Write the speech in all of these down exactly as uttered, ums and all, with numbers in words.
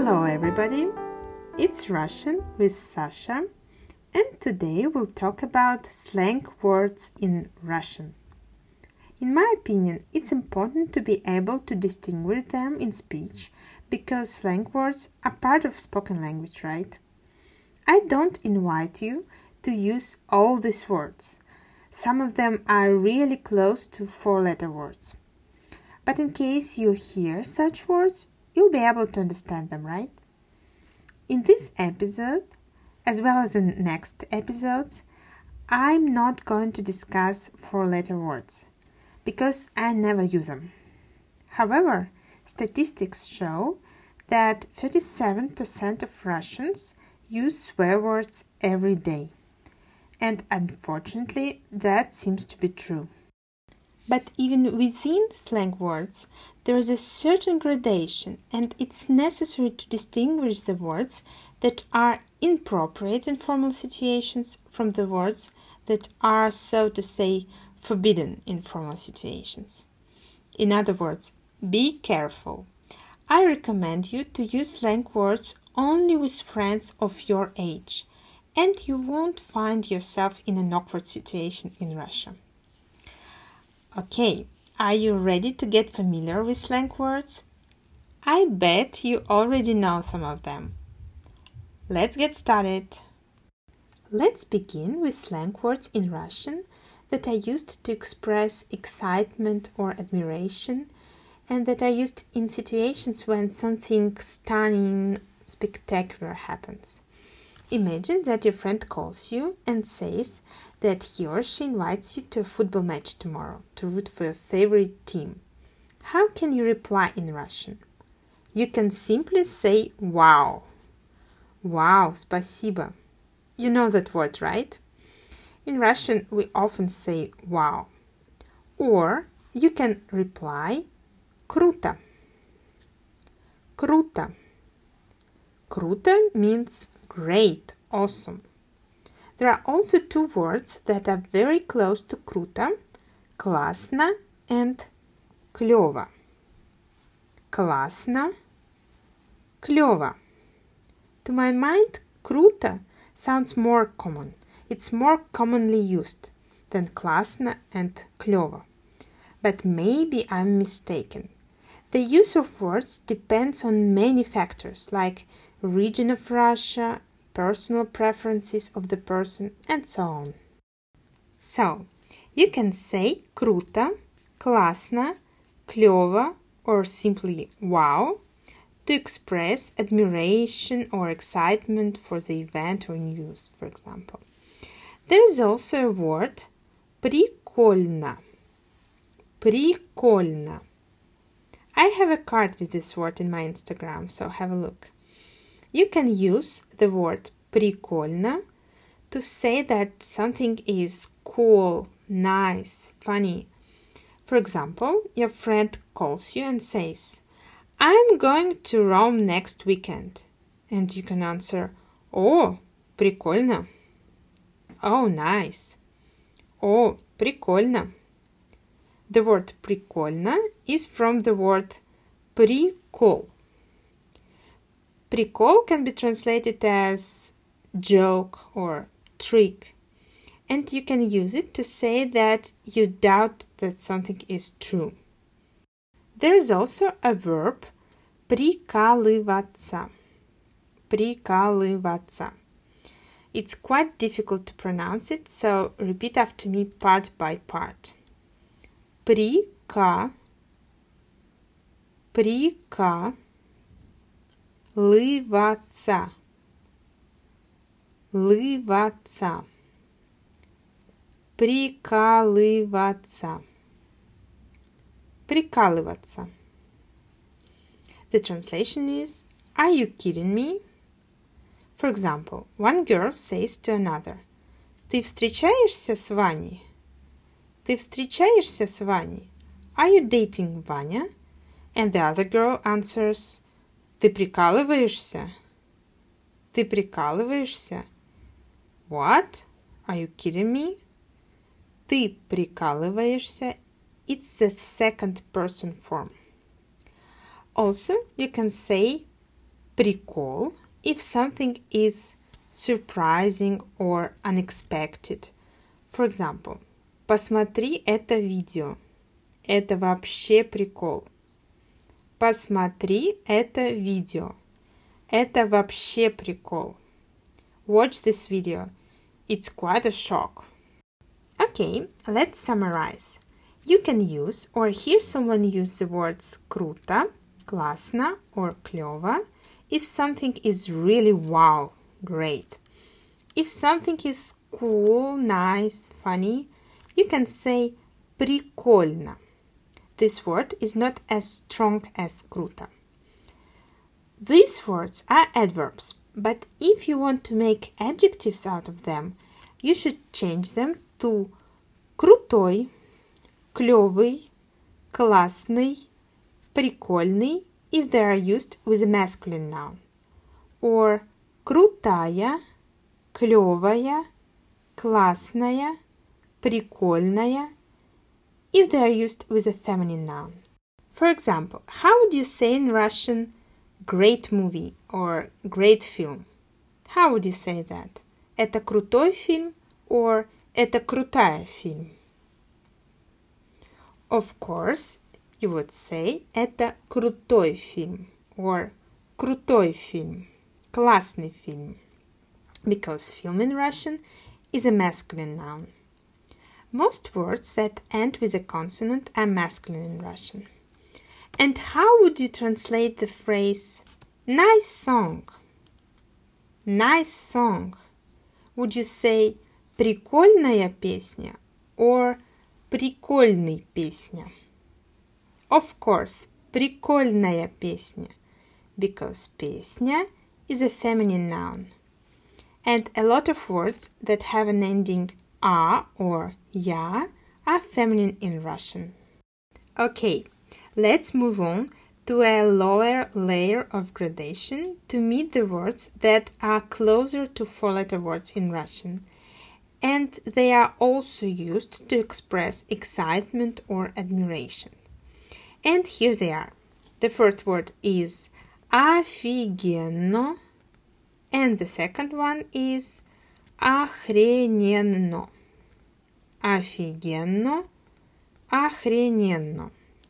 Hello everybody, it's Russian with Sasha, and today we'll talk about slang words in Russian. In my opinion, it's important to be able to distinguish them in speech because slang words are part of spoken language, right? I don't invite you to use all these words. Some of them are really close to four-letter words. But in case you hear such words, you'll be able to understand them, right? In this episode, as well as in next episodes, I'm not going to discuss four-letter words because I never use them. However, statistics show that thirty-seven percent of Russians use swear words every day. And unfortunately, that seems to be true. But even within slang words, there is a certain gradation, and it's necessary to distinguish the words that are inappropriate in formal situations from the words that are, so to say, forbidden in formal situations. In other words, be careful. I recommend you to use slang words only with friends of your age, and you won't find yourself in an awkward situation in Russia. Okay, are you ready to get familiar with slang words? I bet you already know some of them. Let's get started. Let's begin with slang words in Russian that are used to express excitement or admiration and that are used in situations when something stunning, spectacular happens. Imagine that your friend calls you and says that he or she invites you to a football match tomorrow to root for your favorite team. How can you reply in Russian? You can simply say wow. Wow, спасибо. You know that word, right? In Russian, we often say wow. Or you can reply круто. Круто. Круто means great, awesome. There are also two words that are very close to круто, классно and клёво. Классно, клёво. To my mind, круто sounds more common. It's more commonly used than классно and клёво. But maybe I'm mistaken. The use of words depends on many factors like region of Russia, personal preferences of the person, and so on. So, you can say круто, классно, клёво, or simply wow to express admiration or excitement for the event or news, for example. There is also a word прикольно. Прикольно. I have a card with this word in my Instagram, so have a look. You can use the word прикольно to say that something is cool, nice, funny. For example, your friend calls you and says, I'm going to Rome next weekend. And you can answer, Oh, прикольно. Oh, nice. Oh, прикольно. The word прикольно is from the word прикол. Прикол can be translated as joke or trick, and you can use it to say that you doubt that something is true. There is also a verb прикалываться. Прикалываться. It's quite difficult to pronounce it, so repeat after me part by part. Прика, прика, лываться, лываться, прикалываться, прикалываться. The translation is, are you kidding me? For example, one girl says to another, Ты встречаешься с Ваней? Ты встречаешься с Ваней? Are you dating Vanya? And the other girl answers, Ты прикалываешься? Ты прикалываешься? What? Are you kidding me? Ты прикалываешься? It's the second person form. Also, you can say прикол if something is surprising or unexpected. For example, посмотри это видео. Это вообще прикол. Посмотри это видео. Это вообще прикол. Watch this video. It's quite a shock. Okay, let's summarize. You can use or hear someone use the words круто, классно or клёво if something is really wow, great. If something is cool, nice, funny, you can say прикольно. This word is not as strong as круто. These words are adverbs, but if you want to make adjectives out of them, you should change them to крутой, клёвый, классный, прикольный if they are used with a masculine noun, or крутая, клёвая, классная, прикольная if they are used with a feminine noun. For example, how would you say in Russian great movie or great film? How would you say that? Это крутой фильм or это крутая фильм? Of course, you would say это крутой фильм or крутой фильм, классный фильм, because film in Russian is a masculine noun. Most words that end with a consonant are masculine in Russian. And how would you translate the phrase nice song? Nice song. Would you say прикольная песня or прикольный песня? Of course, прикольная песня, because песня is a feminine noun. And a lot of words that have an ending a or ya are feminine in Russian. Okay, let's move on to a lower layer of gradation to meet the words that are closer to four-letter words in Russian, and they are also used to express excitement or admiration. And here they are. The first word is офигенно, and the second one is охрененно. Офигенно, охрененно.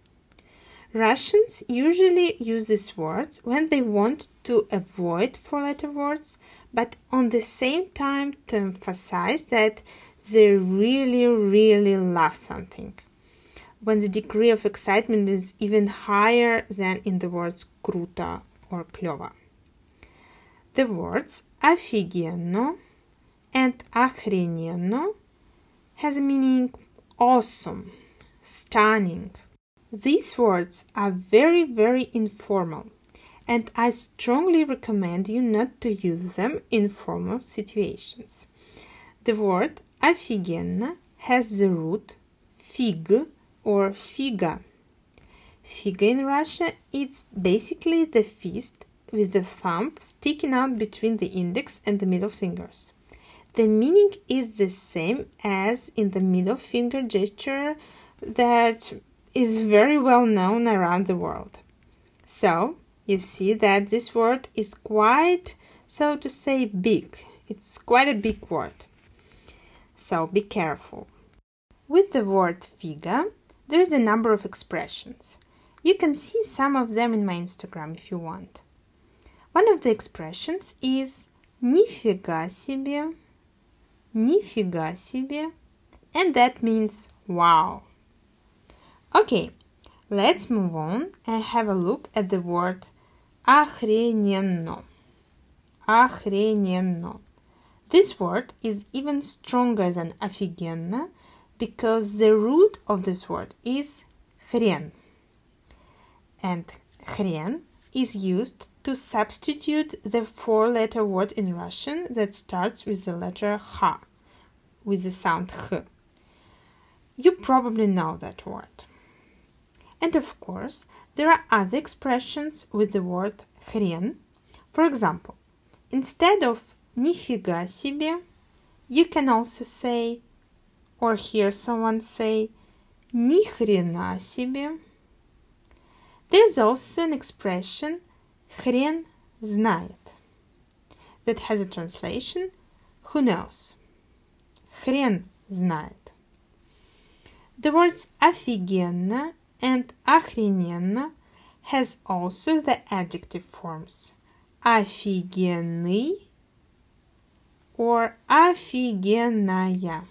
Russians usually use these words when they want to avoid four-letter words, but on the same time to emphasize that they really, really love something. When the degree of excitement is even higher than in the words круто or клёво. The words офигенно and охрененно has a meaning awesome, stunning. These words are very, very informal, and I strongly recommend you not to use them in formal situations. The word офигенно has the root fig or figa. Figa in Russia, it's basically the fist with the thumb sticking out between the index and the middle fingers. The meaning is the same as in the middle finger gesture that is very well known around the world. So, you see that this word is quite, so to say, big. It's quite a big word. So, be careful. With the word figa, there is a number of expressions. You can see some of them in my Instagram if you want. One of the expressions is нифига себе, нифига себе, and that means wow. Okay, let's move on and have a look at the word охрененно. Охрененно. This word is even stronger than офигенно because the root of this word is хрен. And хрен is used to substitute the four-letter word in Russian that starts with the letter H, with the sound H. You probably know that word. And of course, there are other expressions with the word хрен. For example, instead of нифига себе, you can also say, or hear someone say, ни хрена себе. There's also an expression хрен знает. That has a translation who knows. Хрен знает. The words офигенно and охрененно has also the adjective forms офигенный or офигенная,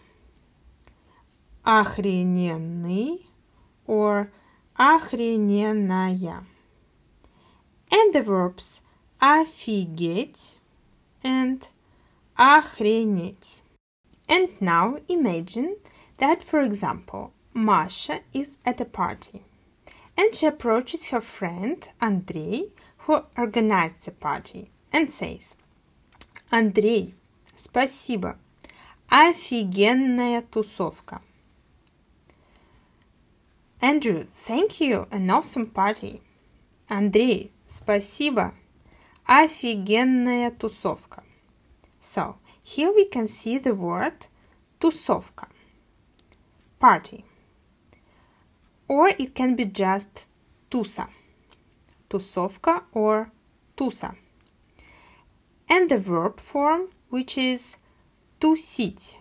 охрененный or охрененная, and the verbs офигеть and охренеть. And now imagine that, for example, Masha is at a party and she approaches her friend Andrei, who organized the party, and says, Андрей, спасибо, офигенная тусовка. Andrew, thank you, an awesome party. Андрей, спасибо, офигенная тусовка. So, here we can see the word тусовка, party. Or it can be just туса, тусовка or туса. And the verb form, which is тусить,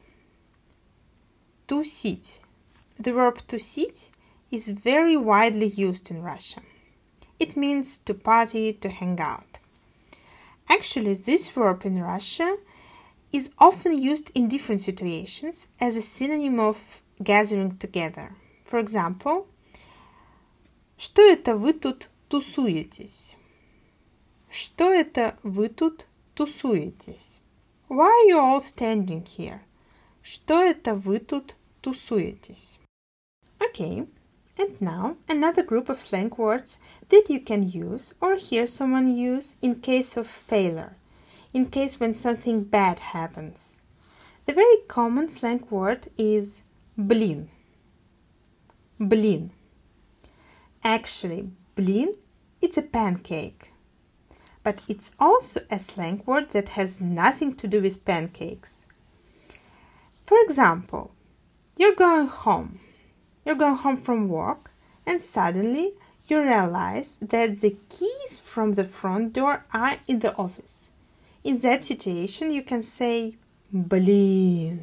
тусить. The verb тусить is very widely used in Russia. It means to party, to hang out. Actually, this verb in Russia is often used in different situations as a synonym of gathering together. For example, что это вы тут тусуетесь? Что это вы тут тусуетесь? Why are you all standing here? Что это вы тут тусуетесь? Okay, and now another group of slang words that you can use or hear someone use in case of failure, in case when something bad happens. The very common slang word is блин. Блин. Actually, блин, it's a pancake. But it's also a slang word that has nothing to do with pancakes. For example, you're going home. You're going home from work and suddenly you realize that the keys from the front door are in the office. In that situation, you can say блин,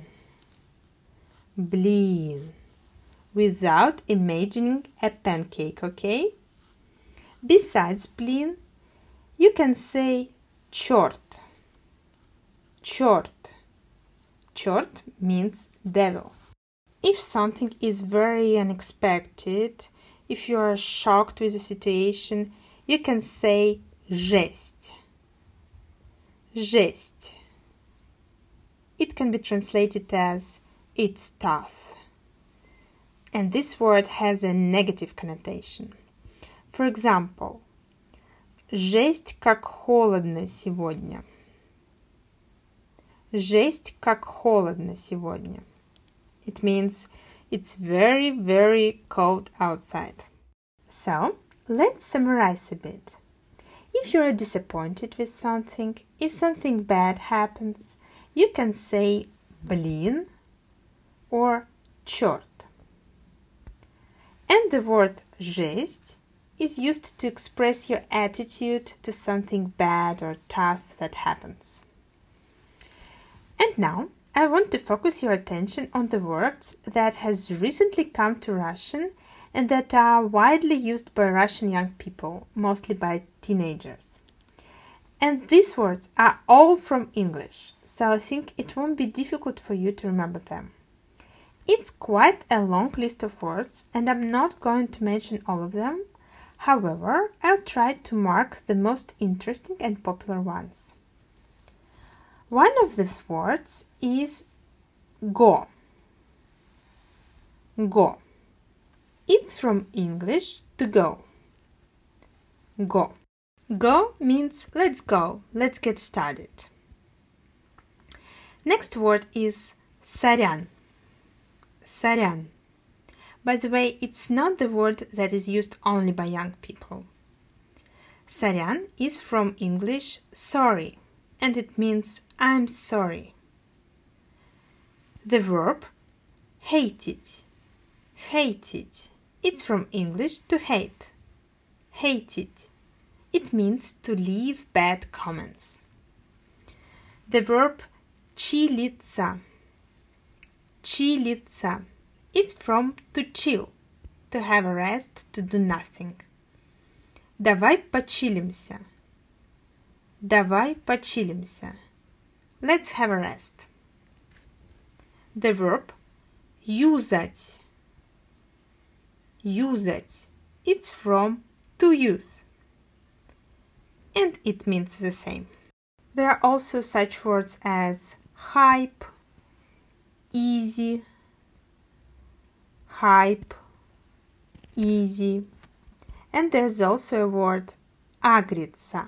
блин, without imagining a pancake, okay? Besides блин, you can say черт, черт. Черт means devil. If something is very unexpected, if you are shocked with a situation, you can say жесть. Жесть. It can be translated as it's tough. And this word has a negative connotation. For example, жесть как холодно сегодня. Жесть как холодно сегодня. It means it's very, very cold outside. So, let's summarize a bit. If you are disappointed with something, if something bad happens, you can say блин or черт. And the word жесть is used to express your attitude to something bad or tough that happens. And now, I want to focus your attention on the words that has recently come to Russian and that are widely used by Russian young people, mostly by teenagers. And these words are all from English, so I think it won't be difficult for you to remember them. It's quite a long list of words, and I'm not going to mention all of them. However, I'll try to mark the most interesting and popular ones. One of these words is go. Go. It's from English to go. Go. Go means let's go, let's get started. Next word is сорян. Сорян. By the way, it's not the word that is used only by young people. Сорян is from English sorry, and it means I'm sorry. The verb hated. Hated. It's from English to hate. Hated. It means to leave bad comments. The verb chilиться. Chilиться. It's from to chill, to have a rest, to do nothing. Давай почилимся. Давай почилимся. Let's have a rest. The verb юзать. Юзать. It's from to use. And it means the same. There are also such words as hype, easy, hype, easy. And there's also a word агриться.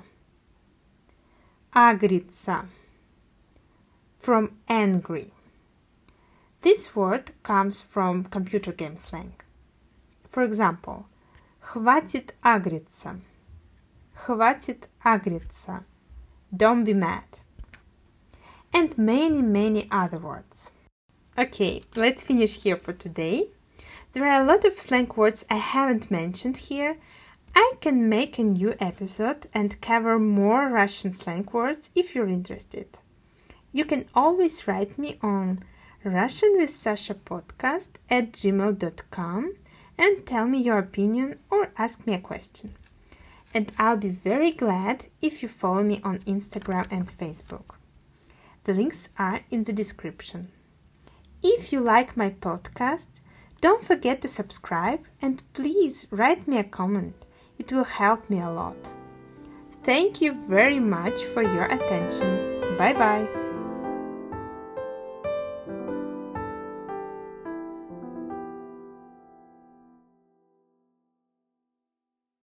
Агриться. From angry. This word comes from computer game slang. For example, хватит агриться. Хватит агриться. Don't be mad. And many, many other words. Okay, let's finish here for today. There are a lot of slang words I haven't mentioned here. I can make a new episode and cover more Russian slang words if you're interested. You can always write me on Russian with Sasha podcast at gmail dot com and tell me your opinion or ask me a question. And I'll be very glad if you follow me on Instagram and Facebook. The links are in the description. If you like my podcast, don't forget to subscribe and please write me a comment. It will help me a lot. Thank you very much for your attention. Bye bye.